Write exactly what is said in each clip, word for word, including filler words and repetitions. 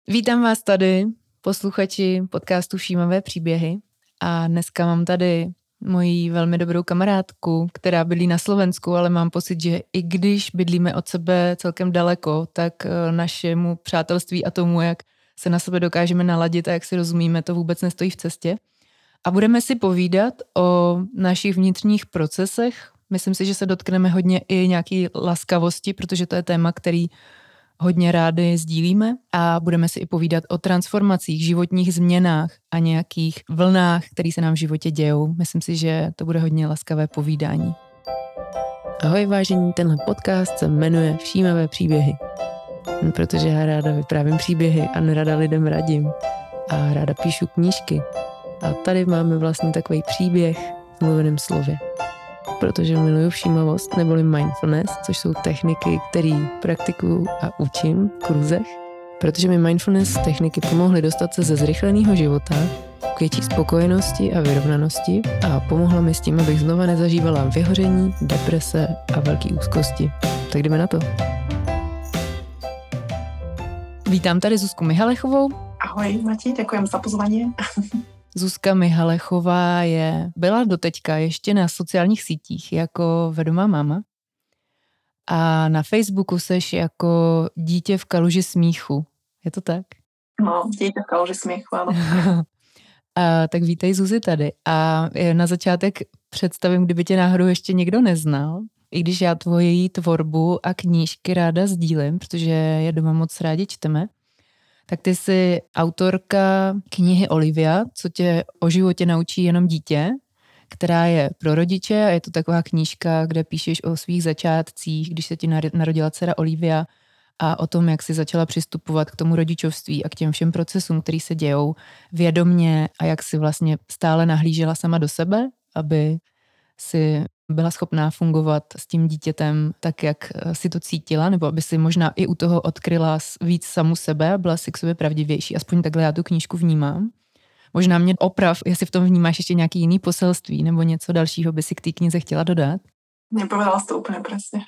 Vítám vás tady, posluchači podcastu Všímavé příběhy. A dneska mám tady moji velmi dobrou kamarádku, která bydlí na Slovensku, ale mám pocit, že i když bydlíme od sebe celkem daleko, tak našemu přátelství a tomu, jak se na sebe dokážeme naladit a jak si rozumíme, to vůbec nestojí v cestě. A budeme si povídat o našich vnitřních procesech. Myslím si, že se dotkneme hodně i nějaký laskavosti, protože to je téma, který hodně rádi sdílíme, a budeme si i povídat o transformacích, životních změnách a nějakých vlnách, které se nám v životě dějou. Myslím si, že to bude hodně laskavé povídání. Ahoj vážení, tenhle podcast se jmenuje Všímavé příběhy. Protože já ráda vyprávím příběhy a nerada lidem radím. A ráda píšu knížky. A tady máme vlastně takový příběh v mluveném slově. Protože miluju všímavost neboli mindfulness, což jsou techniky, které praktikuju a učím v kurzech. Protože mi mindfulness techniky pomohly dostat se ze zrychleného života k větší spokojenosti a vyrovnanosti a pomohla mi s tím, abych znova nezažívala vyhoření, deprese a velký úzkosti. Tak jdeme na to. Vítám tady Zuzku Mihalechovou. Ahoj Mati, děkujem za pozvání. Zuzka Mihalechová je, byla doteďka ještě na sociálních sítích jako vedomá máma a na Facebooku seš jako dítě v kaluži smíchu. Je to tak? No, dítě v kaluži smíchu, ano. A, tak vítej Zuzi tady. A na začátek představím, kdyby tě náhodou ještě někdo neznal, i když já tvoji tvorbu a knížky ráda sdílím, protože je doma moc rádi čteme. Tak ty jsi autorka knihy Olivia, co tě o životě naučí jenom dítě, která je pro rodiče a je to taková knížka, kde píšeš o svých začátcích, když se ti narodila dcera Olivia a o tom, jak jsi začala přistupovat k tomu rodičovství a k těm všem procesům, který se dějou vědomně a jak jsi vlastně stále nahlížela sama do sebe, aby si byla schopná fungovat s tím dítětem tak, jak si to cítila, nebo aby si možná i u toho odkryla víc samu sebe a byla si k sobě pravdivější. Aspoň takhle já tu knížku vnímám. Možná mě oprav, jestli v tom vnímáš ještě nějaký jiný poselství nebo něco dalšího by si k té knize chtěla dodat. Nepovedala jsi to úplně přesně.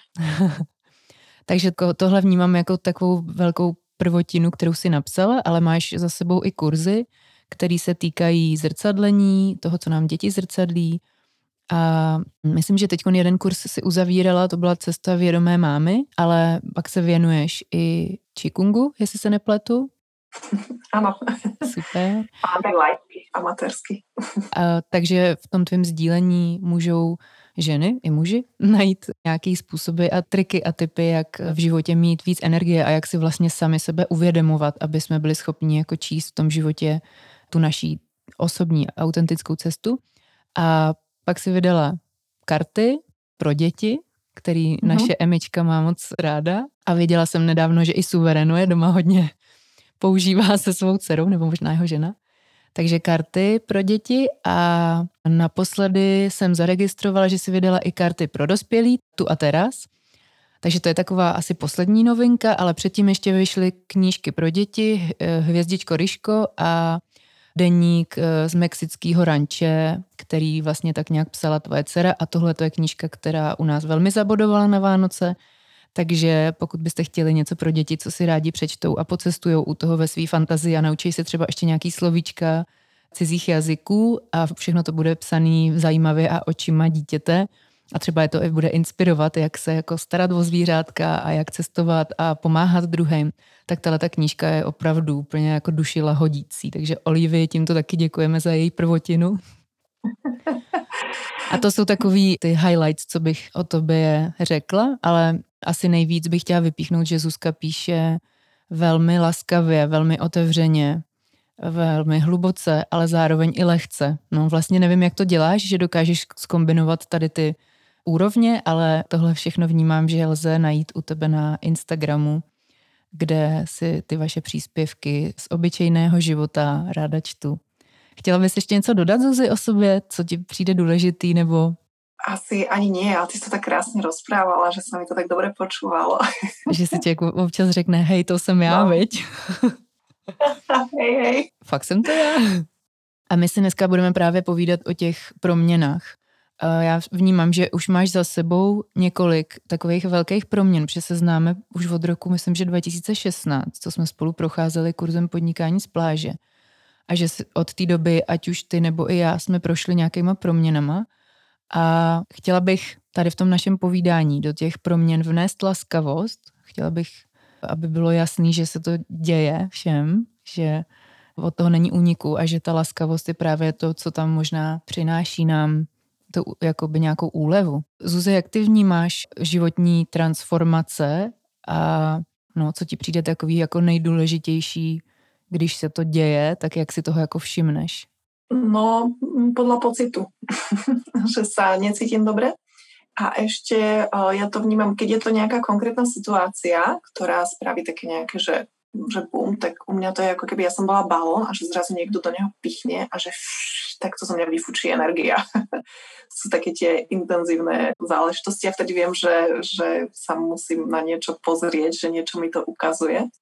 Takže tohle vnímám jako takovou velkou prvotinu, kterou si napsala, ale máš za sebou i kurzy, které se týkají zrcadlení, toho, co nám děti zrcadlí. A myslím, že teď jeden kurz si uzavírala, to byla cesta vědomé mámy, ale pak se věnuješ i Qigongu, jestli se nepletu. Ano. Super. Máme lajky, amatérsky. A, takže v tom tvém sdílení můžou ženy i muži najít nějaký způsoby a triky a typy, jak v životě mít víc energie a jak si vlastně sami sebe uvědomovat, aby jsme byli schopni jako číst v tom životě tu naší osobní autentickou cestu. A pak si vydala karty pro děti, který uh-huh. naše Emička má moc ráda. A věděla jsem nedávno, že i Suverenu je doma hodně používá se svou dcerou, nebo možná jeho žena. Takže karty pro děti a naposledy jsem zaregistrovala, že si vydala i karty pro dospělí, tu a teraz. Takže to je taková asi poslední novinka, ale předtím ještě vyšly knížky pro děti, Hvězdičko Ryško a deník z mexického ranče, který vlastně tak nějak psala tvoje dcera, a tohle to je knížka, která u nás velmi zabodovala na Vánoce, takže pokud byste chtěli něco pro děti, co si rádi přečtou a pocestujou u toho ve své fantazii a naučí se třeba ještě nějaký slovíčka cizích jazyků a všechno to bude psaný zajímavě a očima dítěte a třeba je to i bude inspirovat, jak se jako starat o zvířátka a jak cestovat a pomáhat druhým, tak tato knížka je opravdu úplně jako duši lahodící. Takže Olivii tímto taky děkujeme za její prvotinu. A to jsou takový ty highlights, co bych o tobě řekla, ale asi nejvíc bych chtěla vypíchnout, že Zuzka píše velmi laskavě, velmi otevřeně, velmi hluboce, ale zároveň i lehce. No vlastně nevím, jak to děláš, že dokážeš zkombinovat tady ty úrovně, ale tohle všechno vnímám, že lze najít u tebe na Instagramu, kde si ty vaše příspěvky z obyčejného života ráda čtu. Chtěla bys ještě něco dodat, Zuzi, o sobě, co ti přijde důležitý, nebo... Asi ani nie, ale ty jsi to tak krásně rozprávala, že se mi to tak dobře počúvalo. Že si ti jako občas řekne, hej, to jsem já, no. Viď? hej, hej. Fakt jsem to já. A my si dneska budeme právě povídat o těch proměnách Já vnímám, že už máš za sebou několik takových velkých proměn, protože se známe už od roku, myslím, že dva tisíce šestnáct, co jsme spolu procházeli kurzem podnikání z pláže. A že od té doby, ať už ty nebo i já, jsme prošli nějakýma proměnama. A chtěla bych tady v tom našem povídání do těch proměn vnést laskavost. Chtěla bych, aby bylo jasný, že se to děje všem, že od toho není úniku a že ta laskavost je právě to, co tam možná přináší nám to jakoby nějakou úlevu. Zuzi, jak ty vnímáš životní transformace a no, co ti přijde takový jako nejdůležitější, když se to děje, tak jak si toho jako všimneš? No, podľa pocitu, že sa necítim dobre. A ešte ja to vnímam, keď je to nejaká konkrétna situácia, ktorá spraví také nejaké, že, že bum, tak u mňa to je ako keby ja som bola balón a že zrazu niekto do neho pichne a že fš, tak to zo mňa vyfučí energia. Sú také tie intenzívne záležitosti a vtedy viem, že, že sa musím na niečo pozrieť, že niečo mi to ukazuje.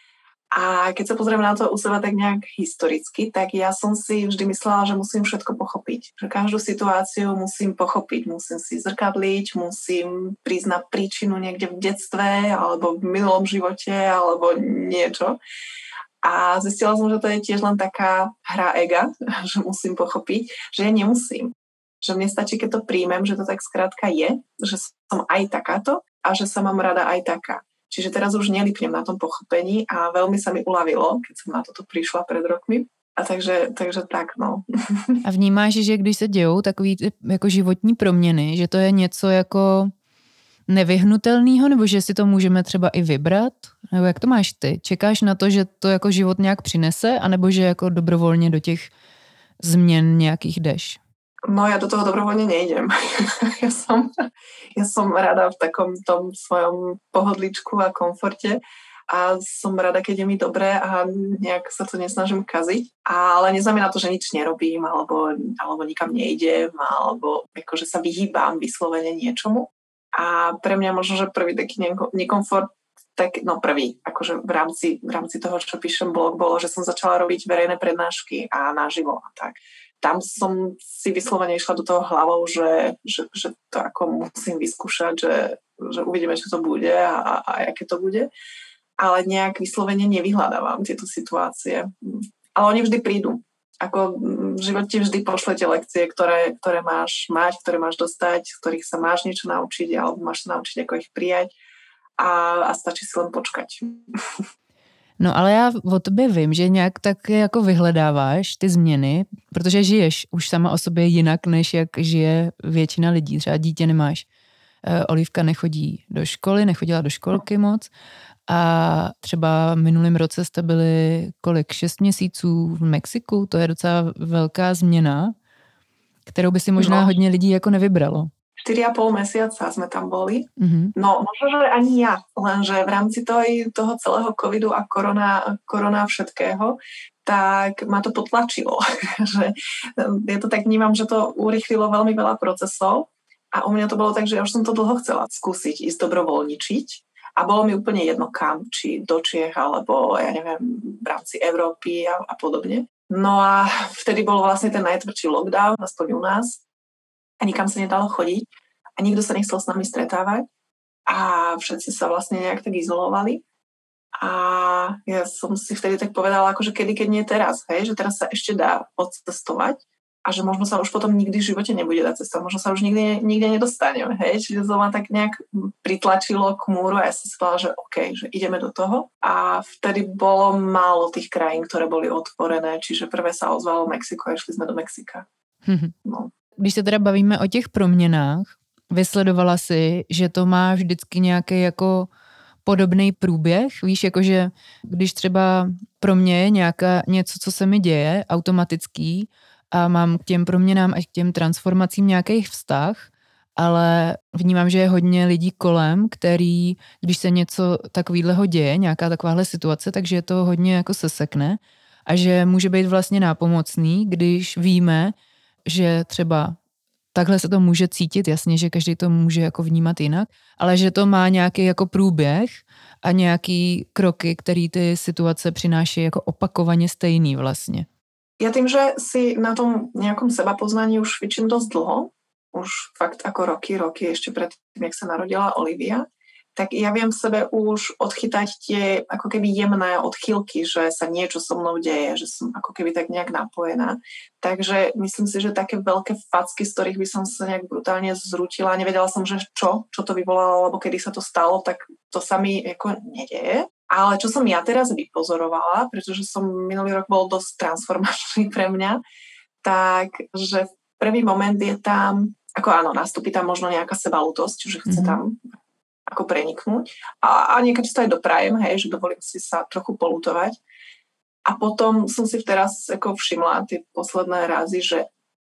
A keď sa pozriem na to u seba tak nejak historicky, tak ja som si vždy myslela, že musím všetko pochopiť. Že každú situáciu musím pochopiť, musím si zrkadliť, musím prísť na príčinu niekde v detstve alebo v minulom živote alebo niečo. A zistila som, že to je tiež len taká hra ega, že musím pochopiť, že ja nemusím. Že mne stačí, keď to príjmem, že to tak skrátka je, že som aj takáto a že sa mám rada aj taká. Čiže teraz už nelipnem na tom pochopení a veľmi sa mi uľavilo, keď som na toto prišla pred rokmi. A takže, takže tak, no. A vnímáš, že když se dějou takový jako životní proměny, že to je něco jako nevyhnutelného, nebo že si to můžeme třeba i vybrat? Nebo jak to máš ty? Čekáš na to, že to jako život nějak přinese, anebo že jako dobrovolně do těch změn nějakých jdeš? No ja do toho dobrovoľne nejdem. ja, som, ja som rada v takom tom svojom pohodličku a komforte a som rada, keď je mi dobré a nejak sa to nesnažím kaziť. Ale neznamená to, že nič nerobím alebo, alebo nikam nejdem alebo akože sa vyhýbam vyslovene niečomu. A pre mňa možno, že prvý taký nekomfort, tak no prvý, akože v rámci, v rámci toho, čo píšem blog, bolo, že som začala robiť verejné prednášky a naživo a tak. Tam som si vyslovene išla do toho hlavou, že, že, že to ako musím vyskúšať, že, že uvidíme, čo to bude a, a, a aké to bude. Ale nejak vyslovene nevyhľadávam tieto situácie. Ale oni vždy prídu. Ako v živote vždy pošlete lekcie, ktoré, ktoré máš mať, ktoré máš dostať, z ktorých sa máš niečo naučiť alebo máš sa naučiť, ako ich prijať a, a stačí si len počkať. No ale já o tobě vím, že nějak tak jako vyhledáváš ty změny, protože žiješ už sama o sobě jinak, než jak žije většina lidí. Třeba dítě nemáš. Olivka nechodí do školy, nechodila do školky moc a třeba minulým roce jste byli kolik? Šest měsíců v Mexiku, to je docela velká změna, kterou by si možná no. hodně lidí jako nevybralo. štyri a pol mesiaca sme tam boli. Mm-hmm. No možno, že ani ja, lenže v rámci toho, toho celého covidu a korona, korona všetkého, tak ma to potlačilo. že ja to tak vnímam, že to urýchlilo veľmi veľa procesov a u mňa to bolo tak, že ja už som to dlho chcela skúsiť, ísť dobrovoľničiť a bolo mi úplne jedno kam, či do Čiech, alebo ja neviem, v rámci Európy a, a podobne. No a vtedy bol vlastne ten najtvrdší lockdown, aspoň u nás, a nikam sa nedalo chodiť a nikto sa nechcel s nami stretávať a všetci sa vlastne nejak tak izolovali a ja som si vtedy tak povedala, akože kedy, keď nie teraz, hej, že teraz sa ešte dá odcestovať a že možno sa už potom nikdy v živote nebude dať cestovať, možno sa už nikdy, nikde nedostaneme, hej, čiže to ma tak nejak pritlačilo k múru a ja som si povedala, že OK, že ideme do toho a vtedy bolo málo tých krajín, ktoré boli otvorené, čiže prvé sa ozvalo Mexiko a išli sme do Mexika. No. Když se teda bavíme o těch proměnách, vysledovala si, že to má vždycky nějaký jako podobný průběh, víš, jakože když třeba pro mě je nějaká, něco, co se mi děje, automatický a mám k těm proměnám a k těm transformacím nějaký vztah, ale vnímám, že je hodně lidí kolem, který, když se něco takovýhleho děje, nějaká takováhle situace, takže je to hodně jako sesekne a že může být vlastně nápomocný, když víme, že třeba takhle se to může cítit, jasně, že každý to může jako vnímat jinak, ale že to má nějaký jako průběh a nějaký kroky, který ty situace přináší jako opakovaně stejný vlastně. Ja tým, že si na tom nejakom sebapoznaní už cvičím dosť dlho, už fakt ako roky, roky ešte pred tým, jak sa narodila Olivia, tak ja viem v sebe už odchytať tie ako keby jemné odchýlky, že sa niečo so mnou deje, že som ako keby tak nejak napojená. Takže myslím si, že také veľké facky, z ktorých by som sa nejak brutálne zrútila, nevedela som, že čo, čo to vyvolalo, alebo kedy sa to stalo, tak to sa mi ako nedeje. Ale čo som ja teraz vypozorovala, pretože som minulý rok bol dosť transformačný pre mňa, tak, že prvý moment je tam, ako áno, nastúpi tam možno nejaká sebalútosť, že chce tam ako preniknúť. A, a niekedy to aj doprajem, hej, že dovolím si sa trochu polutovať. A potom som si teraz ako všimla tie posledné razy, že,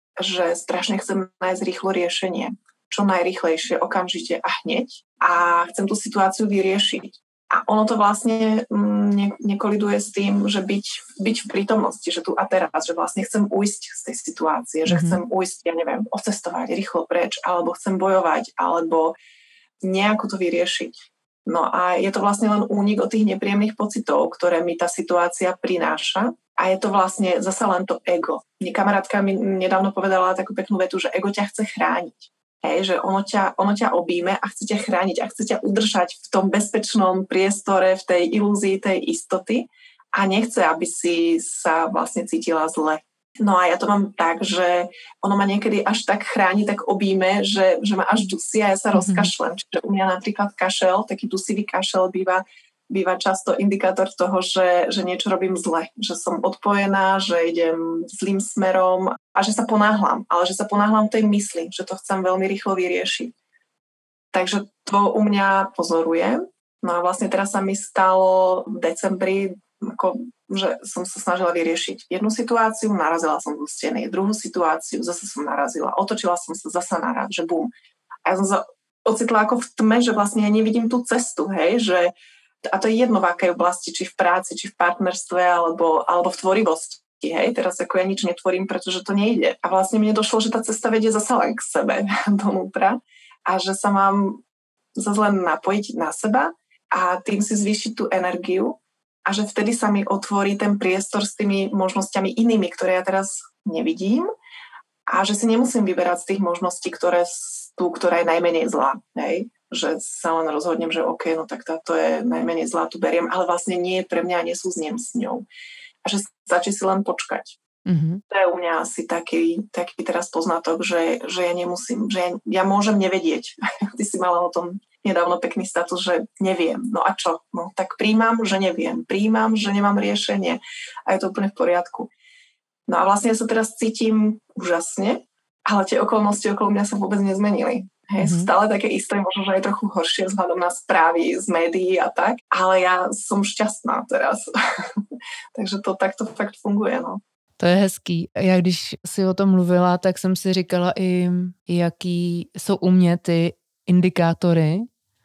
že strašne chcem nájsť rýchlo riešenie. Čo najrýchlejšie, okamžite a hneď. A chcem tú situáciu vyriešiť. A ono to vlastne ne, nekoliduje s tým, že byť, byť v prítomnosti, že tu a teraz, že vlastne chcem ujsť z tej situácie, mm-hmm. že chcem ujsť, ja neviem, ocestovať rýchlo preč, alebo chcem bojovať, alebo nejako to vyriešiť. No a je to vlastne len únik od tých nepríjemných pocitov, ktoré mi tá situácia prináša. A je to vlastne zasa len to ego. Mne kamarátka mi nedávno povedala takú peknú vetu, že ego ťa chce chrániť. Hej, že ono ťa, ono ťa objíme a chce ťa chrániť a chce ťa udržať v tom bezpečnom priestore, v tej ilúzii tej istoty a nechce, aby si sa vlastne cítila zle. No a ja to mám tak, že ono ma niekedy až tak chráni, tak objíme, že, že ma až dusí a ja sa mm-hmm. rozkašlem. Čiže u mňa napríklad kašel, taký dusivý kašel býva, býva často indikátor toho, že, že niečo robím zle. Že som odpojená, že idem zlým smerom a že sa ponáhlam. Ale že sa ponáhlam tej mysli, že to chcem veľmi rýchlo vyriešiť. Takže to u mňa pozorujem. No a vlastne teraz sa mi stalo v decembri, ako, že som sa snažila vyriešiť jednu situáciu, narazila som do steny, druhú situáciu, zase som narazila, otočila som sa zasa naraz, že bum. A ja som sa ocitla ako v tme, že vlastne ja nevidím tú cestu, hej, že a to je jedno v akej oblasti, či v práci, či v partnerstve, alebo, alebo v tvorivosti, hej, teraz ako ja nič netvorím, pretože to nejde. A vlastne mne došlo, že tá cesta vedie zasa len k sebe, donútra, a že sa mám zase len napojiť na seba a tým si zvýšiť tú energiu, a že vtedy sa mi otvorí ten priestor s tými možnosťami inými, ktoré ja teraz nevidím a že si nemusím vyberať z tých možností, ktoré tú, ktorá je najmenej zlá. Hej? Že sa len rozhodnem, že OK, no tak táto je najmenej zlá, tu beriem, ale vlastne nie je pre mňa a nesúzniem s ňou. A že stačí si len počkať. Mm-hmm. To je u mňa asi taký, taký teraz poznatok, že, že ja nemusím, že ja, ja môžem nevedieť. Ty si mala o tom nedávno pekný status, že neviem. No a čo? No tak príjmam, že neviem. Príjmam, že nemám riešenie. A je to úplne v poriadku. No a vlastne ja sa teraz cítim úžasne, ale tie okolnosti okolo mňa sa vôbec nezmenili. Hej, mm-hmm. sú stále také isté, možno, že aj trochu horšie vzhľadom na správy z médií a tak, ale ja som šťastná teraz. Takže to takto fakt funguje, no. To je hezký. Já když si o tom mluvila, tak jsem si říkala i, jaký jsou u mě ty indikátory.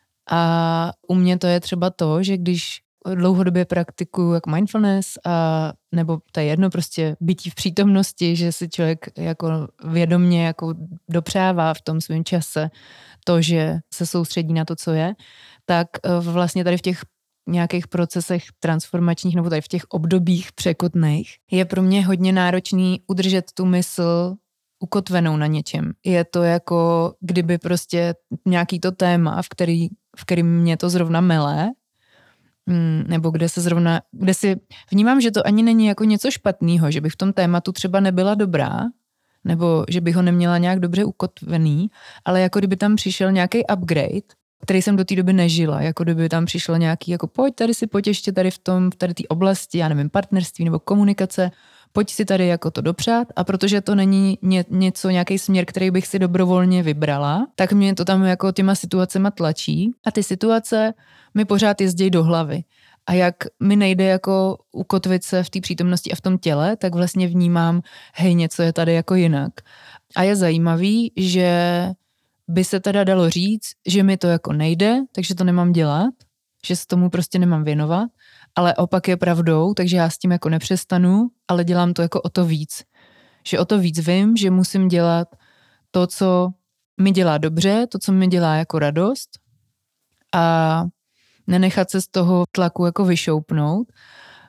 A u mě to je třeba to, že když dlouhodobě praktikuju jak mindfulness a nebo to je jedno prostě bytí v přítomnosti, že si člověk jako vědomně jako dopřává v tom svém čase to, že se soustředí na to, co je, tak vlastně tady v těch nějakých procesech transformačních nebo tady v těch obdobích překotných je pro mě hodně náročný udržet tu mysl ukotvenou na něčem. Je to jako kdyby prostě nějaký to téma, v který, v kterým mě to zrovna mele, nebo kde se zrovna, kde si vnímám, že to ani není jako něco špatného, že bych v tom tématu třeba nebyla dobrá, nebo že bych ho neměla nějak dobře ukotvený, ale jako kdyby tam přišel nějaký upgrade, který jsem do té doby nežila, jako kdyby tam přišlo nějaký, jako pojď tady si pojď ještě tady v tom, v tady té oblasti, já nevím, partnerství nebo komunikace, pojď si tady jako to dopřát a protože to není ně, něco, nějaký směr, který bych si dobrovolně vybrala, tak mě to tam jako těma situacema tlačí a ty situace mi pořád jezdí do hlavy. A jak mi nejde jako ukotvit se v té přítomnosti a v tom těle, tak vlastně vnímám, hej, něco je tady jako jinak. A je zajímavý, že by se teda dalo říct, že mi to jako nejde, takže to nemám dělat, že se tomu prostě nemám věnovat, ale opak je pravdou, takže já s tím jako nepřestanu, ale dělám to jako o to víc. Že o to víc vím, že musím dělat to, co mi dělá dobře, to, co mi dělá jako radost a nenechat se z toho tlaku jako vyšoupnout.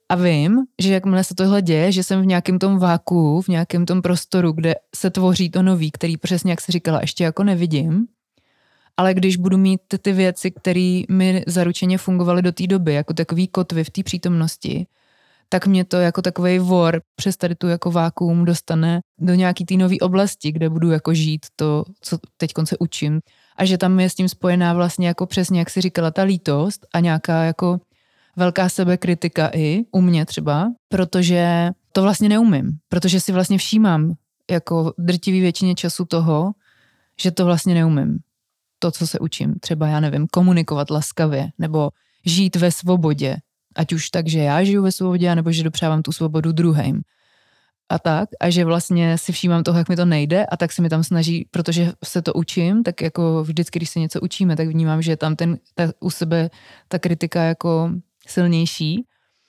A vím, že jakmile se tohle děje, že jsem v nějakém tom vákuu, v nějakém tom prostoru, kde se tvoří to nový, který přesně, jak jsi říkala, ještě jako nevidím, ale když budu mít ty, ty věci, které mi zaručeně fungovaly do té doby, jako takový kotvy v té přítomnosti, tak mě to jako takovej vor přes tady tu jako vákuum dostane do nějaký té nové oblasti, kde budu jako žít to, co teď se učím. A že tam je s tím spojená vlastně jako přesně, jak jsi říkala, ta lítost a nějaká jako velká sebekritika i u mě třeba, protože to vlastně neumím, protože si vlastně všímám jako drtivý většině času toho, že to vlastně neumím. To, co se učím, třeba já nevím, komunikovat laskavě nebo žít ve svobodě, ať už tak, že já žiju ve svobodě, nebo že dopřávám tu svobodu druhým. A tak, a že vlastně si všímám toho, jak mi to nejde a tak se mi tam snaží, protože se to učím, tak jako vždycky, když se něco učíme, tak vnímám, že je tam ten, ta, u sebe ta kritika jako silnější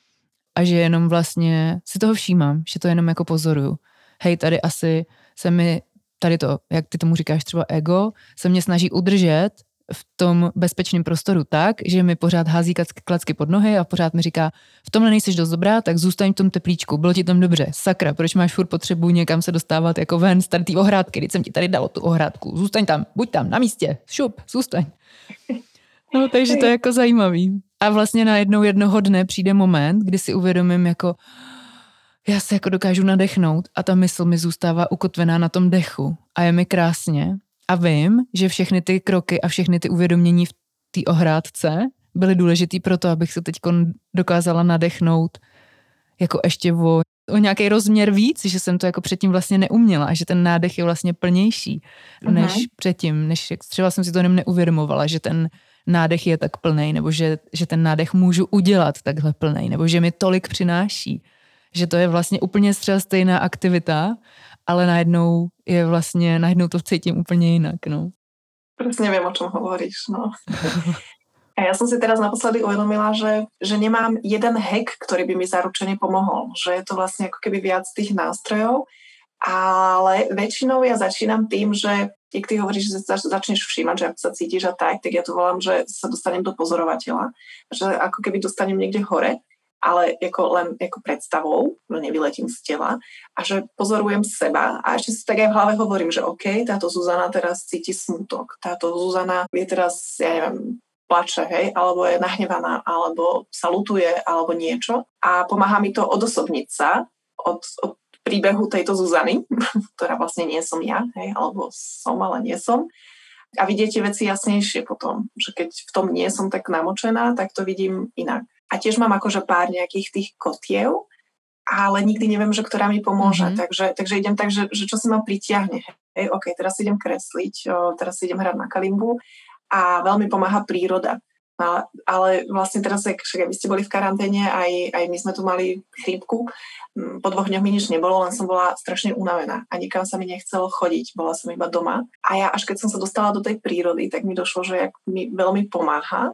a že jenom vlastně si toho všímám, že to jenom jako pozoruju. Hej, tady asi se mi, tady to, jak ty tomu říkáš třeba ego, se mě snaží udržet v tom bezpečném prostoru tak, že mi pořád hází klacky pod nohy a pořád mi říká, v tomhle nejseš dost dobrá, tak zůstaň v tom teplíčku, bylo ti tam dobře, sakra, proč máš furt potřebu někam se dostávat jako ven z tady té ohrádky, když jsem ti tady dal tu ohrádku, zůstaň tam, buď tam, na místě, šup, zůstaň. No, takže to je jako zajímavý. A vlastně najednou jednoho dne přijde moment, kdy si uvědomím jako, já se jako dokážu nadechnout a ta mysl mi zůstává ukotvená na tom dechu a je mi krásně. A vím, že všechny ty kroky a všechny ty uvědomění v té ohrádce byly důležitý pro to, abych se teď dokázala nadechnout jako ještě o, o nějaký rozměr víc, že jsem to jako předtím vlastně neuměla a že ten nádech je vlastně plnější než uh-huh. předtím, než třeba jsem si to jenom neuvědomovala, že ten nádech je tak plnej, nebo že, že ten nádech můžu udělat takhle plnej, nebo že mi tolik přináší, že to je vlastně úplně třeba stejná aktivita, ale najednou je vlastně, najednou to cítím úplně jinak, no. Presne viem, o čom hovoríš, no. A ja som si teraz naposledy uvedomila, že, že nemám jeden hack, ktorý by mi zaručene pomohol. Že je to vlastne ako keby viac tých nástrojov, ale väčšinou ja začínam tým, že keď ty hovoríš, že zač- začneš všímať, že ako sa cítiš a tak, tak ja to volám, že sa dostanem do pozorovateľa, že ako keby dostanem niekde hore, ale ako len ako predstavou, že nevyletím z tela a že pozorujem seba a ešte si tak aj v hlave hovorím, že OK, táto Zuzana teraz cíti smútok, táto Zuzana je teraz, ja neviem, plače, hej, alebo je nahnevaná, alebo sa lutuje, alebo niečo a pomáha mi to odosobniť sa od, od príbehu tejto Zuzany, ktorá vlastne nie som ja, hej, alebo som, ale nie som. A vidieť tie veci jasnejšie potom, že keď v tom nie som tak namočená, tak to vidím inak. A tiež mám akože pár nejakých tých kotiev, ale nikdy neviem, že ktorá mi pomôže. Mm-hmm. Takže, takže idem tak, že, že čo si ma pritiahne. Hej, OK, teraz si idem kresliť, o, teraz si idem hrať na kalimbu a veľmi pomáha príroda. No, ale vlastne teraz, však vy ste boli v karanténe, aj, aj my sme tu mali chrípku. Po dvoch dňoch mi nič nebolo, len som bola strašne unavená a nikam sa mi nechcelo chodiť. Bola som iba doma. A ja až keď som sa dostala do tej prírody, tak mi došlo, že jak mi veľmi pomáha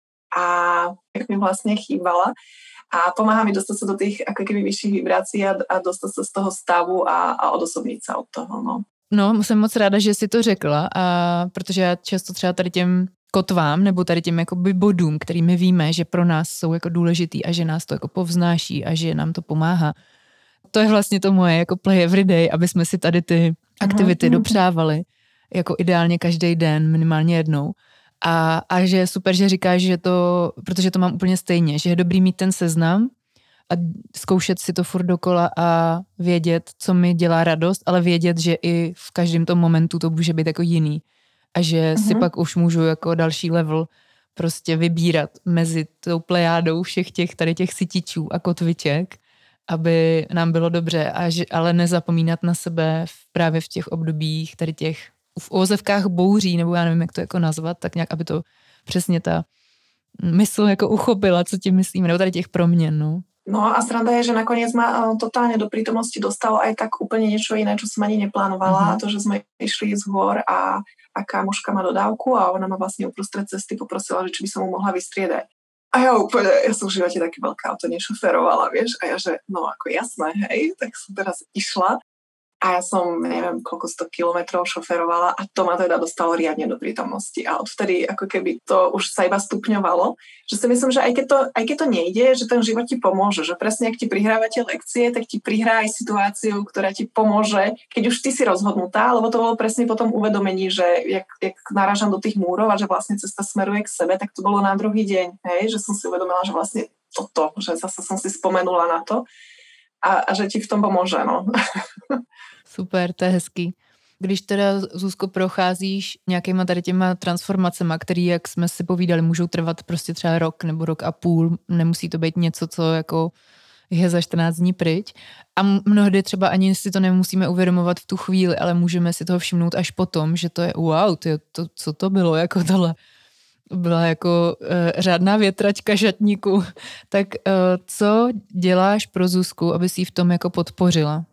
a jak mi vlastne chýbala. A pomáha mi dostať sa do tých ako keby vyšších vibrácií a, a dostať sa z toho stavu a, a odosobniť sa od toho. No. no, jsem moc ráda, že jsi to řekla, a protože já často třeba tady těm kotvám nebo tady těm jakoby bodům, kterými víme, že pro nás jsou jako důležitý a že nás to jako povznáší a že nám to pomáhá. To je vlastně to moje jako play everyday, aby jsme si tady ty aktivity Aha. dopřávali jako ideálně každý den, minimálně jednou. A, a že je super, že říkáš, že to, protože to mám úplně stejně, že je dobrý mít ten seznam a zkoušet si to furt dokola a vědět, co mi dělá radost, ale vědět, že i v každém tom momentu to může být jako jiný. A že uh-huh. si pak už můžu jako další level prostě vybírat mezi tou plejádou všech těch tady těch sytičů a kotviček, aby nám bylo dobře, a že, ale nezapomínat na sebe v, právě v těch obdobích tady těch v ozevkách bouří, nebo já nevím, jak to jako nazvat, tak nějak, aby to přesně ta mysl jako uchopila, co tím myslíme, nebo tady těch proměn, no. No a sranda je, že nakoniec ma totálne do prítomnosti dostalo aj tak úplne niečo iné, čo som ani neplánovala. Uh-huh. To, že sme išli z hôr a, a kamoška má dodávku a ona ma vlastne uprostred cesty poprosila, že či by som mu mohla vystriedať. A ja úplne, ja som v živote taký veľká auto nešoferovala, vieš, a ja, že no ako jasné, hej, tak som teraz išla. A ja som, neviem, koľko sto kilometrov šoferovala a to ma teda dostalo riadne do prítomnosti. A odvtedy ako keby to už sa iba stupňovalo. Že si myslím, že aj keď to, aj keď to nejde, že ten život ti pomôže. Že presne, ak ti prihrávate lekcie, tak ti prihrá aj situáciu, ktorá ti pomôže, keď už ty si rozhodnutá, lebo to bolo presne potom uvedomení, že jak, jak narážam do tých múrov a že vlastne cesta smeruje k sebe, tak to bolo na druhý deň. Hej? Že som si uvedomila, že vlastne toto, že zase som si spomenula na to a, a že ti v tom pomôže. No. Super, to je hezký. Když teda, Zuzko, procházíš nějakýma tady těma transformacema, který, jak jsme si povídali, můžou trvat prostě třeba rok nebo rok a půl, nemusí to být něco, co jako je za čtrnáct dní pryč. A mnohdy třeba ani si to nemusíme uvědomovat v tu chvíli, ale můžeme si toho všimnout až potom, že to je wow, to, to, co to bylo, jako tohle byla jako uh, řádná větračka šatníku. Tak uh, co děláš pro Zuzku, aby si ji v tom jako podpořila?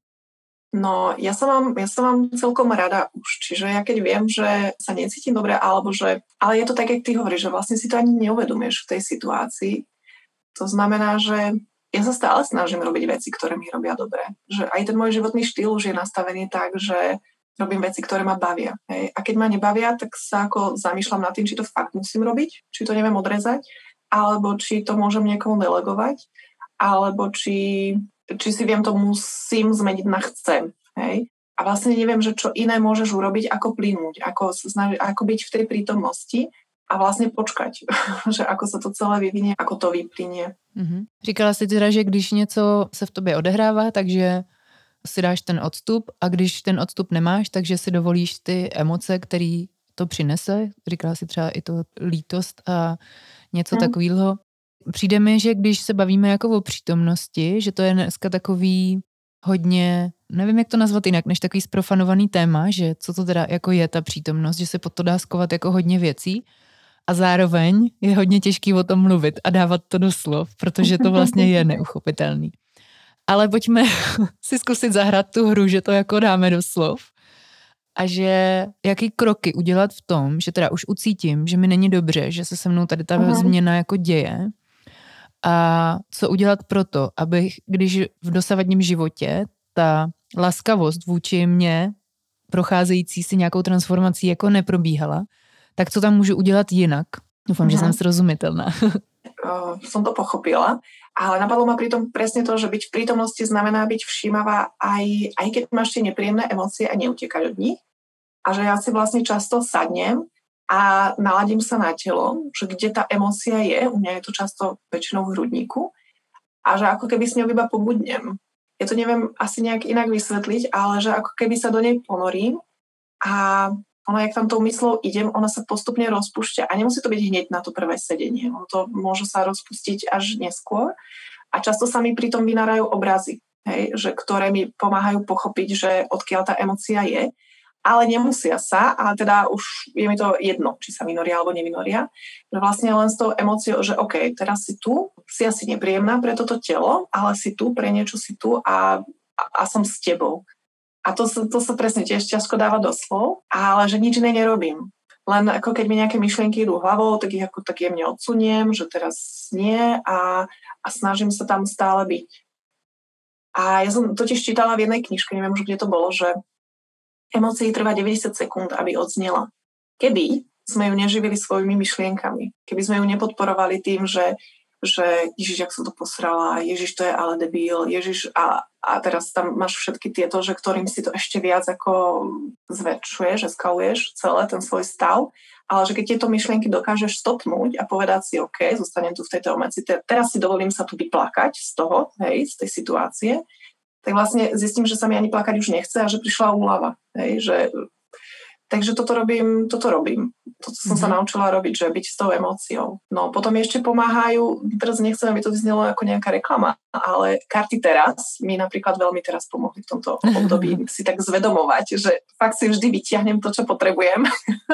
No, ja sa mám, ja sa mám celkom rada už. Čiže ja keď viem, že sa necítim dobre, alebo že... Ale je to tak, jak ty hovoríš, že vlastne si to ani neuvedomuješ v tej situácii. To znamená, že ja sa stále snažím robiť veci, ktoré mi robia dobre. Že aj ten môj životný štýl už je nastavený tak, že robím veci, ktoré ma bavia. Hej. A keď ma nebavia, tak sa ako zamýšľam nad tým, či to fakt musím robiť, či to neviem odrezať, alebo či to môžem niekomu delegovať, alebo či... či si viem, to musím zmeniť na chcem. Hej? A vlastne neviem, že čo iné môžeš urobiť, ako plynúť, ako, snaži, ako byť v tej prítomnosti a vlastne počkať, že ako sa to celé vyvinie, ako to vyplynie. Mm-hmm. Říkala jsi teda, že když něco se v tobě odehrává, takže si dáš ten odstup a když ten odstup nemáš, takže si dovolíš ty emoce, který to přinese. Říkala si třeba i to lítost a něco mm. takového. Přijde mi, že když se bavíme jako o přítomnosti, že to je dneska takový hodně, nevím, jak to nazvat jinak, než takový sprofanovaný téma, že co to teda jako je ta přítomnost, že se pod to dá skovat jako hodně věcí a zároveň je hodně těžký o tom mluvit a dávat to do slov, protože to vlastně je neuchopitelný. Ale pojďme si zkusit zahrát tu hru, že to jako dáme do slov a že jaký kroky udělat v tom, že teda už ucítím, že mi není dobře, že se se mnou tady ta uh-huh. změna jako děje. A co udělat proto, aby když v dosavadním životě ta laskavost vůči mně, procházející si nějakou transformací, jako neprobíhala, tak co tam můžu udělat jinak? Doufám, mm. že jsem srozumitelná. Uh, som to pochopila, ale napadlo ma pritom presne to, že byť v prítomnosti znamená byť všímavá aj, aj keď máš tie nepríjemné emócie a neutekať od nich. A že ja si vlastne často sadnem a naladím sa na telo, že kde tá emócia je, u mňa je to často väčšinou v hrudníku, a že ako keby s ňou iba pobudnem. Ja to neviem asi nejak inak vysvetliť, ale že ako keby sa do nej ponorím a ono, jak tam tou myslou idem, ona sa postupne rozpúšťa a nemusí to byť hneď na to prvé sedenie. Ono to môže sa rozpustiť až neskôr a často sa mi pri tom vynárajú obrazy, hej, že ktoré mi pomáhajú pochopiť, že odkiaľ tá emócia je. Ale nemusia sa, a teda už je mi to jedno, či sa vynoria alebo nevynoria, že vlastne len s tou emóciou, že OK, teraz si tu, si asi nepríjemná pre toto telo, ale si tu, pre niečo si tu a, a, a som s tebou. A to, to sa presne tiež ťažko dáva do slov, ale že nič iné nerobím. Len ako keď mi nejaké myšlienky idú hlavou, tak ich ako tak jemne odsuniem, že teraz nie a, a snažím sa tam stále byť. A ja som totiž čítala v jednej knižke, neviem už, kde to bolo, že emócii trvá deväťdesiat sekúnd, aby odznela. Keby sme ju neživili svojimi myšlienkami, keby sme ju nepodporovali tým, že, že Ježiš, jak som to posrala, Ježiš, to je ale debil, Ježiš, a, a teraz tam máš všetky tieto, že ktorým si to ešte viac ako zväčšuješ, eskaluješ celé ten svoj stav, ale že keď tieto myšlienky dokážeš stopnúť a povedať si, OK, zostanem tu v tejto emócii, teraz si dovolím sa tu vyplakať z toho, hej, z tej situácie, tak vlastne zistím, že sa mi ani plakať už nechce a že prišla úlava. Hej, že... Takže toto robím, toto robím. Toto som mm-hmm. sa naučila robiť, že byť s tou emóciou. No potom ešte pomáhajú, teraz nechcem, aby to vyznelo ako nejaká reklama, ale karty teraz mi napríklad veľmi teraz pomohli v tomto období si tak zvedomovať, že fakt si vždy vytiahnem to, čo potrebujem.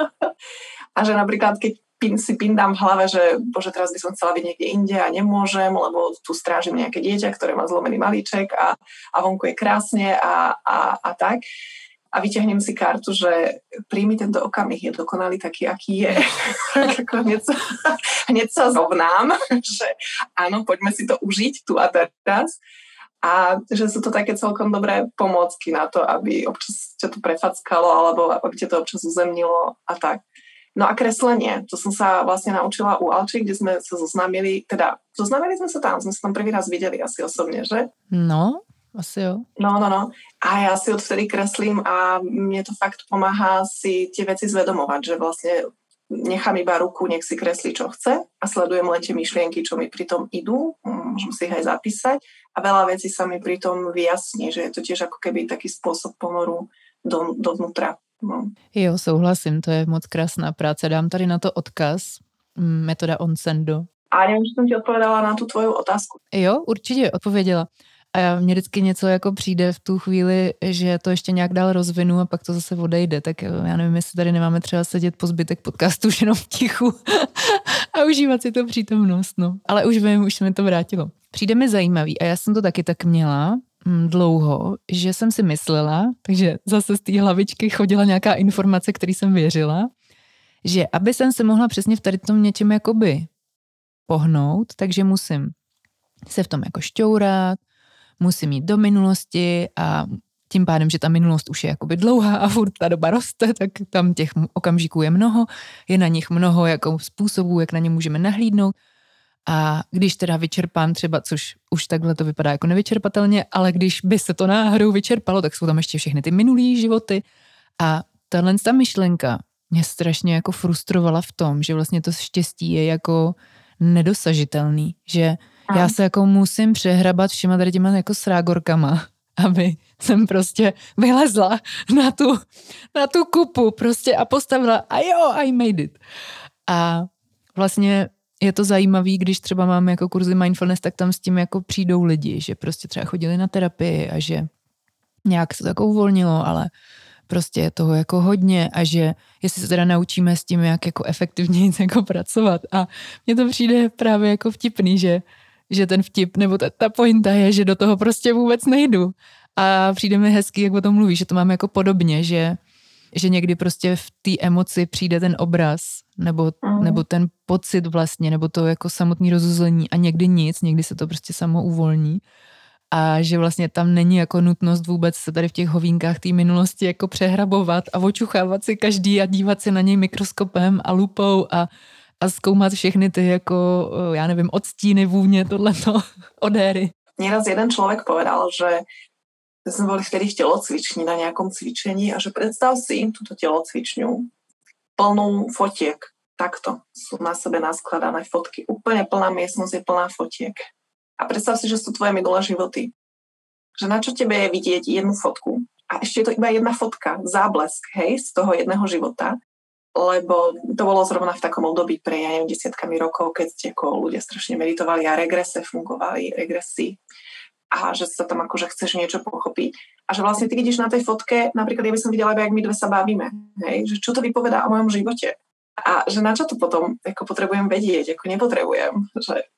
A že napríklad, keď pin, si pindám v hlave, že bože, teraz by som chcela byť niekde inde a nemôžem, lebo tu strážim nejaké dieťa, ktoré má zlomený malíček a, a vonku je krásne a, a, a tak. A vyťahnem si kartu, že príjmi tento okamih, je dokonalý taký, aký je. hneď, sa, hneď sa zrovnám, že áno, poďme si to užiť tu a teraz. A že sú to také celkom dobré pomôcky na to, aby občas ťa to prefackalo alebo aby ťa to občas uzemnilo a tak. No a kreslenie, to som sa vlastne naučila u Alči, kde sme sa zoznámili, teda zoznámili sme sa tam, sme sa tam prvý raz videli asi osobne, že? No, asi jo. No, no, no. A ja si odvtedy kreslím a mne to fakt pomáha si tie veci zvedomovať, že vlastne nechám iba ruku, nech si kreslí, čo chce a sledujem len tie myšlienky, čo mi pritom idú, môžem si ich aj zapísať a veľa vecí sa mi pritom vyjasní, že je to tiež ako keby taký spôsob ponoru do, dovnútra. No. Jo, souhlasím, to je moc krásná práce. Dám tady na to odkaz, metoda Onsendo. A neviem, či som ti odpovedala na tú tvoju otázku. Jo, určitě odpověděla. A mně vždycky něco jako přijde v tu chvíli, že to ještě nějak dál rozvinu a pak to zase odejde. Tak já nevím, jestli tady nemáme třeba sedět po zbytek podcastu už jenom v tichu a užívat si to přítomnost. No. Ale už vím, už se mi to vrátilo. Přijde mi zajímavý a já jsem to taky tak měla hm, dlouho, že jsem si myslela, takže zase z té hlavičky chodila nějaká informace, který jsem věřila, že aby jsem se mohla přesně v tady tom něčem jakoby pohnout, takže musím se v tom jako šťourat, musím jít do minulosti a tím pádem, že ta minulost už je jakoby dlouhá a furt ta doba roste, tak tam těch okamžiků je mnoho, je na nich mnoho jako způsobů, jak na ně můžeme nahlídnout. A když teda vyčerpám třeba, což už takhle to vypadá jako nevyčerpatelně, ale když by se to náhodou vyčerpalo, tak jsou tam ještě všechny ty minulý životy. A tahle ta myšlenka mě strašně jako frustrovala v tom, že vlastně to štěstí je jako nedosažitelný, že já se jako musím přehrabat všema tady těma jako srágorkama, aby jsem prostě vylezla na tu, na tu kupu prostě a postavila a jo, I made it. A vlastně je to zajímavý, když třeba máme jako kurzy mindfulness, tak tam s tím jako přijdou lidi, že prostě třeba chodili na terapii a že nějak se to jako uvolnilo, ale prostě je toho jako hodně a že jestli se teda naučíme s tím, jak jako efektivně jako pracovat. A mně to přijde právě jako vtipný, že že ten vtip, nebo ta, ta pointa je, že do toho prostě vůbec nejdu. A přijde mi hezky, jak o tom mluví, že to máme jako podobně, že, že někdy prostě v té emoci přijde ten obraz, nebo, mm. nebo ten pocit vlastně, nebo to jako samotný rozuzlení a někdy nic, někdy se to prostě samo uvolní. A že vlastně tam není jako nutnost vůbec se tady v těch hovínkách té minulosti jako přehrabovat a očuchávat si každý a dívat se na něj mikroskopem a lupou a a zkoumat všechny ty jako, já nevím, odstíny, vůně, tohleto, odéry. Nieraz jeden človek povedal, že sme boli vtedy v telocvični na nejakom cvičení a že predstav si túto telocvičňu plnú fotiek. Takto sú na sebe naskladané fotky. Úplne plná miestnosť je plná fotiek. A predstav si, že sú tvoje minulé životy. Že na čo tebe je vidieť jednu fotku a ešte je to iba jedna fotka, záblesk, hej, z toho jedného života. Lebo to bolo zrovna v takom období pre, ja neviem, desiatkami rokov, keď ste ako ľudia strašne meditovali a regrese fungovali, regresy a že sa tam akože chceš niečo pochopiť. A že vlastne ty vidíš na tej fotke, napríklad ja by som videla, jak my dve sa bavíme, hej? Že čo to vypovedá o mojom živote. A že na čo to potom ako potrebujem vedieť, ako nepotrebujem. Že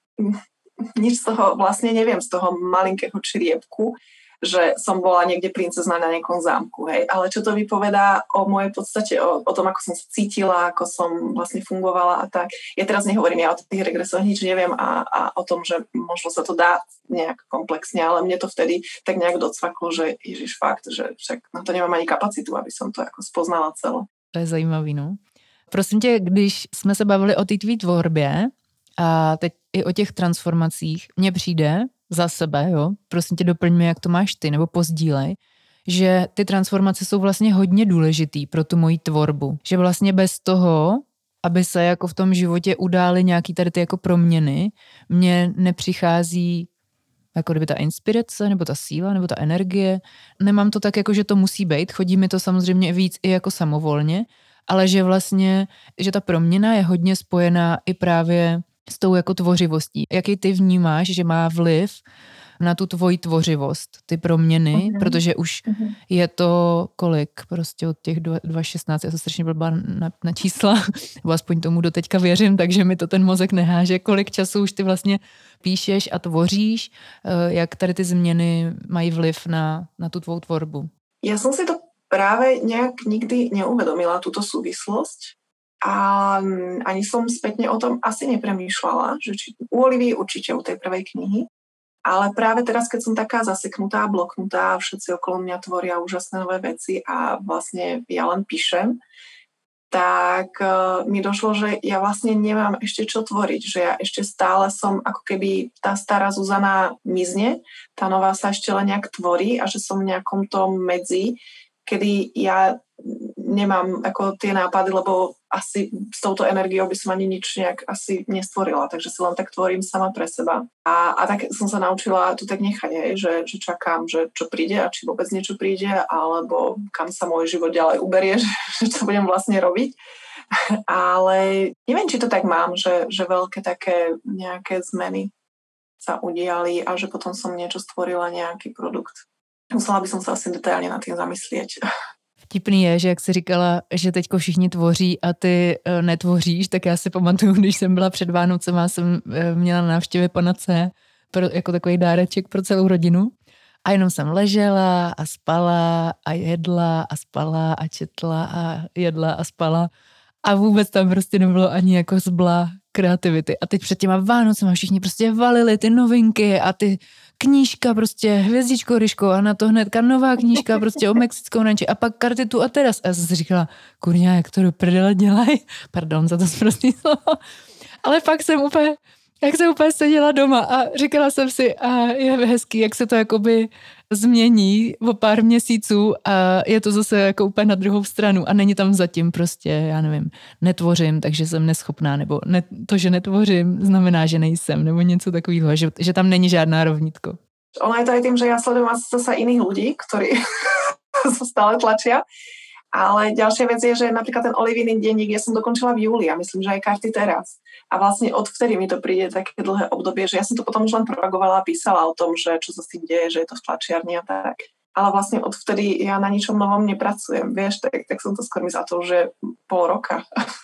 nič z toho vlastne neviem, z toho malinkého čriepku, že som bola niekde princezna na nejakom zámku, hej. Ale čo to vypovedá o mojej podstate, o, o tom, ako som sa cítila, ako som vlastne fungovala a tak. Ja teraz nehovorím, ja o tých regresoch nič neviem a, a o tom, že možno sa to dá nejak komplexne, ale mne to vtedy tak nejak docvaklo, že ježiš fakt, že však na to nemám ani kapacitu, aby som to ako spoznala celé. To je zajímavý, no. Prosím tě, když jsme se bavili o té tvý tvorbě a teď i o těch transformacích, mně přijde za sebe, jo, prosím tě doplň mi, jak to máš ty, nebo pozdílej, že ty transformace jsou vlastně hodně důležitý pro tu moji tvorbu. Že vlastně bez toho, aby se jako v tom životě udály nějaký tady ty jako proměny, mně nepřichází jako kdyby ta inspirace, nebo ta síla, nebo ta energie. Nemám to tak jako, že to musí být, chodí mi to samozřejmě víc i jako samovolně, ale že vlastně, že ta proměna je hodně spojená i právě s tou jako tvořivostí. Jaký ty vnímáš, že má vliv na tu tvoji tvořivost, ty proměny, uh-huh. protože už uh-huh. je to kolik, prostě od těch dva šestnáct, já jsem strašně blbá na, na čísla, nebo aspoň tomu doteďka věřím, takže mi to ten mozek neháže, kolik času už ty vlastně píšeš a tvoříš, jak tady ty změny mají vliv na, na tu tvou tvorbu. Já jsem si to právě nějak nikdy neuvedomila, túto súvislosť. A ani som spätne o tom asi nepremýšľala, že či u Olivy určite u tej prvej knihy. Ale práve teraz, keď som taká zaseknutá, bloknutá, všetci okolo mňa tvoria úžasné nové veci a vlastne ja len píšem, tak uh, mi došlo, že ja vlastne nemám ešte čo tvoriť, že ja ešte stále som, ako keby tá stará Zuzana mizne, tá nová sa ešte len nejak tvorí a že som v nejakom tom medzi, kedy ja nemám ako tie nápady, lebo asi s touto energiou by som ani nič nejak asi nestvorila, takže si len tak tvorím sama pre seba. A, a tak som sa naučila to tak nechať, hej, že, že čakám, že čo príde a či vôbec niečo príde, alebo kam sa môj život ďalej uberie, že, že čo budem vlastne robiť. Ale neviem, či to tak mám, že, že veľké také nejaké zmeny sa udiali a že potom som niečo stvorila, nejaký produkt. Musela by som sa asi detailně nad tím zamyslieť. Vtipný je, že jak jsi říkala, že teďko všichni tvoří a ty e, netvoříš, tak já si pamatuju, když jsem byla před Vánocema, jsem e, měla návštěvy pana C pro, jako takový dáreček pro celou rodinu a jenom jsem ležela a spala a jedla a spala a četla a jedla a spala a vůbec tam prostě nebylo ani jako zbla kreativity. A teď před těma Vánocema všichni prostě valili ty novinky a ty knížka prostě Hvězdičko Ryško a na to hnedka nová knížka prostě o Mexickou ranči a pak karty tu a teraz. A já jsem si říkala, kurňa, jak to do prdele dělají? Pardon za to sprostý slovo. Ale pak jsem úplně, jak jsem úplně seděla doma a říkala jsem si, a je hezký, jak se to jakoby změní o pár měsíců a je to zase jako úplně na druhou stranu a není tam zatím prostě, já nevím, netvořím, takže jsem neschopná, nebo ne, to, že netvořím, znamená, že nejsem, nebo něco takového, že, že tam není žádná rovnítko. Ono je to aj tým, že ja sledujem zase iných ľudí, ktorí sa stále tlačia, ale ďalšia vec je, že napríklad ten Olivinin denník ja som dokončila v júli a myslím, že aj karty teraz. A vlastne odvtedy mi to príde také dlhé obdobie, že ja som to potom už len propagovala a písala o tom, že čo sa s tým deje, že je to v tlačiarni a tak. Ale vlastne odvtedy ja na ničom novom nepracujem, vieš, tak, tak som to skôr myslela to, že pol roka.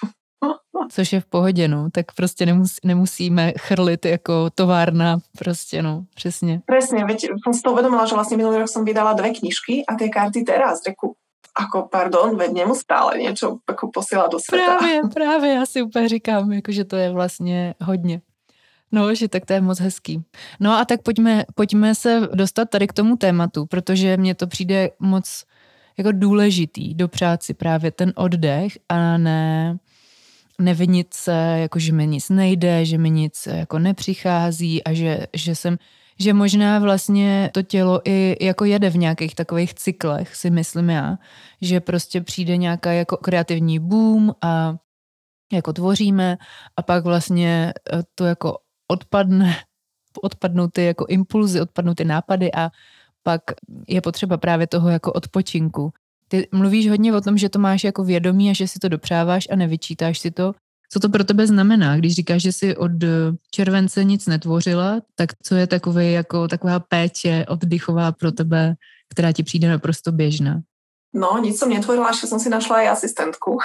Což je v pohodě, no, tak prostě nemus, nemusíme chrlit jako továrna, prostě, no, přesně. Presne, veď som si to uvedomila, že vlastne minulý rok som vydala dve knižky a tie karty teraz, reku, ako, pardon, veď nemustále niečo ako posiela do sveta. Právě, právě, já si úplně říkám, jako, že to je vlastně hodně. No, že tak to je moc hezký. No a tak pojďme, pojďme se dostat tady k tomu tématu, protože mně to přijde moc jako důležitý dopřát si právě ten oddech a ne nevinit se, jako že mi nic nejde, že mi nic jako nepřichází a že, že jsem, že možná vlastně to tělo i jako jede v nějakých takových cyklech, si myslím já, že prostě přijde nějaká jako kreativní boom a jako tvoříme a pak vlastně to jako odpadne, odpadnou ty jako impulzy, odpadnou ty nápady a pak je potřeba právě toho jako odpočinku. Ty mluvíš hodně o tom, že to máš jako vědomí a že si to dopřáváš a nevyčítáš si to. Co to pro tebe znamená, když říkáš, že jsi od července nic netvořila, tak co je takové jako taková péče oddychová pro tebe, která ti přijde naprosto běžná? No, nic som netvorila, ešte som si našla aj asistentku.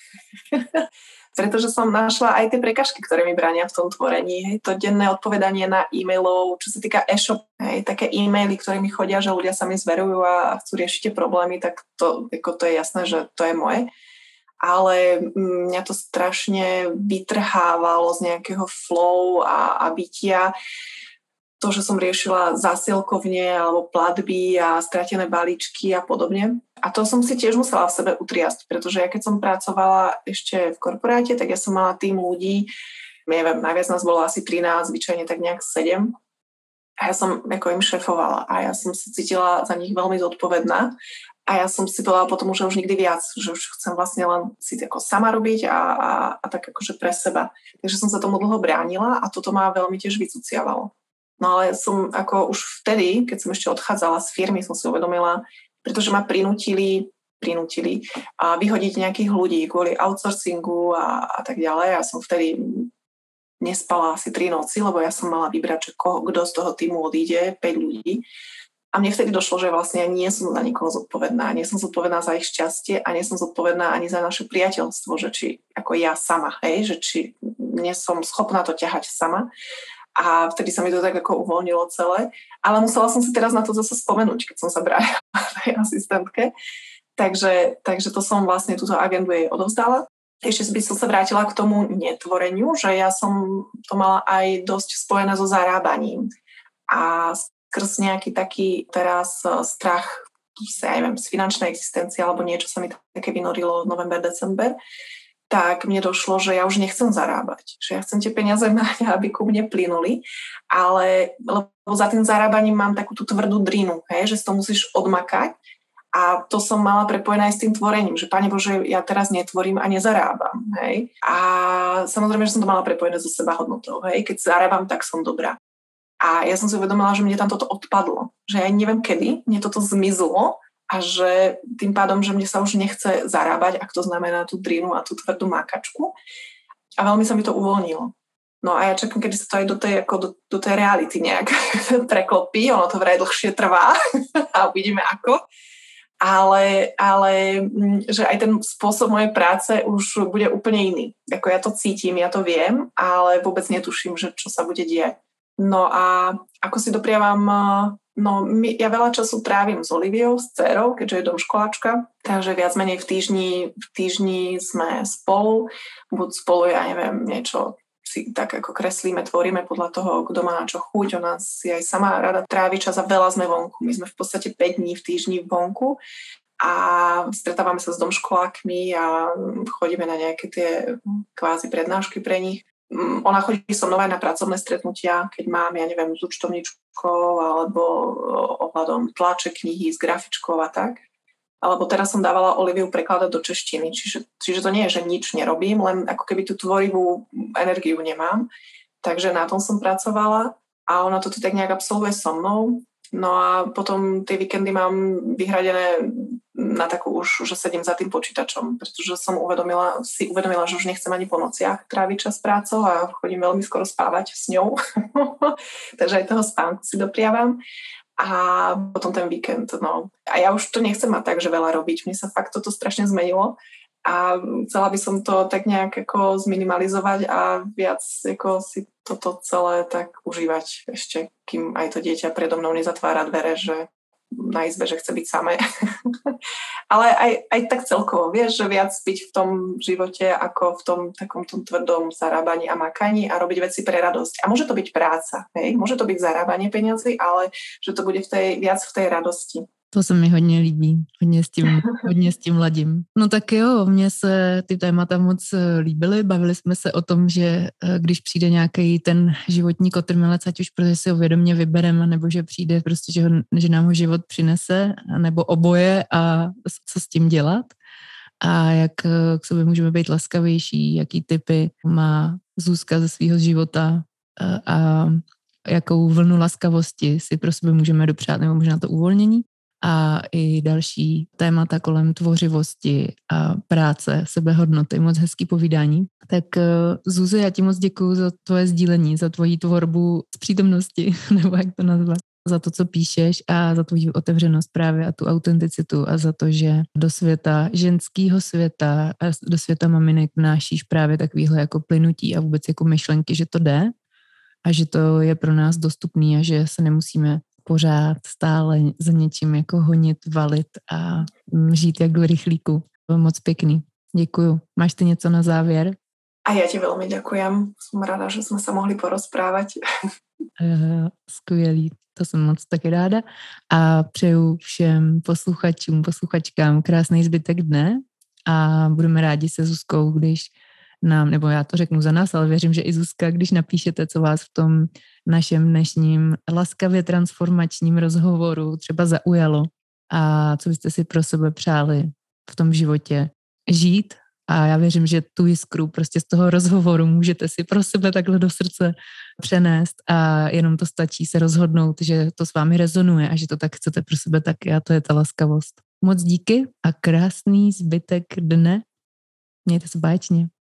Pretože som našla aj tie prekažky, ktoré mi bránia v tom tvorení. Hej, to denné odpovedanie na e-mailov, čo sa týka e-shop, hej, také e-maily, ktoré mi chodia, že ľudia sa mi zverujú a chcú riešiť tie problémy, tak to, ako to je jasné, že to je moje. Ale mňa to strašne vytrhávalo z nejakého flow a, a bytia. To, že som riešila zásielkovne alebo platby a stratené balíčky a podobne. A to som si tiež musela v sebe utriasť, pretože ja keď som pracovala ešte v korporáte, tak ja som mala tým ľudí, neviem, najviac nás bolo asi trinásť, zvyčajne tak nejak sedem. A ja som ako im šefovala a ja som sa cítila za nich veľmi zodpovedná. A ja som si povedala potom, že už nikdy viac, že už chcem vlastne len si ako sama robiť a, a, a tak akože pre seba. Takže som sa tomu dlho bránila a toto ma veľmi tiež vycuciavalo. No ale som ako už vtedy, keď som ešte odchádzala z firmy, som si uvedomila, pretože ma prinútili, prinútili a vyhodiť nejakých ľudí kvôli outsourcingu a, a tak ďalej. Ja som vtedy nespala asi tri noci, lebo ja som mala vybrať, že koho, kto z toho týmu odíde, päť ľudí. A mne vtedy došlo, že vlastne nie som za nikoho zodpovedná. Nie som zodpovedná za ich šťastie a nie som zodpovedná ani za naše priateľstvo, že či ako ja sama, hej, že či nie som schopná to ťahať sama. A vtedy sa mi to tak ako uvoľnilo celé. Ale musela som si teraz na to zase spomenúť, keď som sa bránila tej asistentke. Takže, takže to som vlastne túto agendu jej odovzdala. Ešte by som sa vrátila k tomu netvoreniu, že ja som to mala aj dosť spojené so zarábaním. a skrz nejaký taký teraz strach ja neviem, z finančnej existencie alebo niečo sa mi také vynorilo november, december, tak mne došlo, že ja už nechcem zarábať. Že ja chcem tie peniaze mať, aby ku mne plynuli, ale lebo za tým zarábaním mám takú tú tvrdú drinu, hej, že si to musíš odmakať a to som mala prepojené aj s tým tvorením, že Pane Bože, ja teraz netvorím a nezarábam, hej. A samozrejme, že som to mala prepojené so sebahodnotou, hej. Keď zarábam, tak som dobrá. A ja som si uvedomila, že mne tam toto odpadlo. Že ja neviem kedy, mne toto zmizlo a že tým pádom, že mne sa už nechce zarábať, ak to znamená tú drinu a tú tvrdú mákačku. A veľmi sa mi to uvoľnilo. No a ja čakám, kedy sa to aj do tej, ako do, do tej reality nejak preklopí. Ono to vraj dlhšie trvá a uvidíme ako. Ale, ale že aj ten spôsob mojej práce už bude úplne iný. Ako ja to cítim, ja to viem, ale vôbec netuším, že čo sa bude diať. No a ako si dopriavam, no my, ja veľa času trávim s Oliviou, s dcerou, keďže je domškoláčka, takže viac menej v týždni, v týždni sme spolu, buď spolu, ja neviem, niečo si tak ako kreslíme, tvoríme podľa toho, kto má na čo chuť, ona si aj sama rada trávi čas a veľa sme vonku. My sme v podstate päť dní v týždni vonku a stretávame sa s domškolákmi a chodíme na nejaké tie kvázi prednášky pre nich. Ona chodí so mnou aj na pracovné stretnutia, keď mám, ja neviem, s účtovníčkou alebo ohľadom tlače knihy s grafičkou a tak. Alebo teraz som dávala Oliviu prekladať do češtiny. Čiže, čiže to nie je, že nič nerobím, len ako keby tú tvorivú energiu nemám. Takže na tom som pracovala a ona to tak nejak absolvuje so mnou. No a potom tie víkendy mám vyhradené na takú už, že sedím za tým počítačom, pretože som uvedomila, si uvedomila, že už nechcem ani po nociach tráviť čas prácou a chodím veľmi skoro spávať s ňou. Takže aj toho spánku si dopriavam. A potom ten víkend, no. A ja už to nechcem mať tak, že veľa robiť. Mne sa fakt toto strašne zmenilo a chcela by som to tak nejak ako zminimalizovať a viac ako si toto celé tak užívať ešte, kým aj to dieťa predo mnou nezatvára dvere, že na izbe, že chce byť samé. Ale aj, aj tak celkovo, vieš, že viac byť v tom živote ako v tom takom tom tvrdom zarábaní a makaní a robiť veci pre radosť. A môže to byť práca, hej? Môže to byť zarábanie peniazy, ale že to bude v tej, viac v tej radosti. To se mi hodně líbí, hodně s tím, hodně s tím ladím. No tak jo, mně se ty témata moc líbily, bavili jsme se o tom, že když přijde nějaký ten životní kotrmelec, ať už protože si ho vědomě vybereme, nebo že přijde prostě, že, ho, že nám ho život přinese, nebo oboje a co s tím dělat a jak k sobě můžeme být laskavější, jaký typy má Zuzka ze svého života a, a jakou vlnu laskavosti si pro sebe můžeme dopřát, nebo možná to uvolnění. A i další témata kolem tvořivosti a práce, sebehodnoty, moc hezký povídání. Tak Zuzo, já ti moc děkuju za tvoje sdílení, za tvoji tvorbu z přítomnosti, nebo jak to nazvat, za to, co píšeš a za tvoji otevřenost právě a tu autenticitu a za to, že do světa ženského světa a do světa maminek vnášíš právě takovýhle jako plynutí a vůbec jako myšlenky, že to jde a že to je pro nás dostupný a že se nemusíme pořád stále za něčím jako honit, valit a žít jak do rychlíku. Bylo moc pěkný. Děkuju. Máš ty něco na závěr? A ja ti veľmi ďakujem. Som rada, že sme sa mohli porozprávať. Uh, skvělý. To jsem moc taky ráda. A přeju všem posluchačům, posluchačkám krásný zbytek dne a budeme rádi se Zuzkou, když nám, nebo já to řeknu za nás, ale věřím, že i Zuzka, když napíšete, co vás v tom našem dnešním laskavě transformačním rozhovoru třeba zaujalo a co byste si pro sebe přáli v tom životě žít. A já věřím, že tu jiskru prostě z toho rozhovoru můžete si pro sebe takhle do srdce přenést a jenom to stačí se rozhodnout, že to s vámi rezonuje a že to tak chcete pro sebe taky a to je ta laskavost. Moc díky a krásný zbytek dne. Mějte se báječně.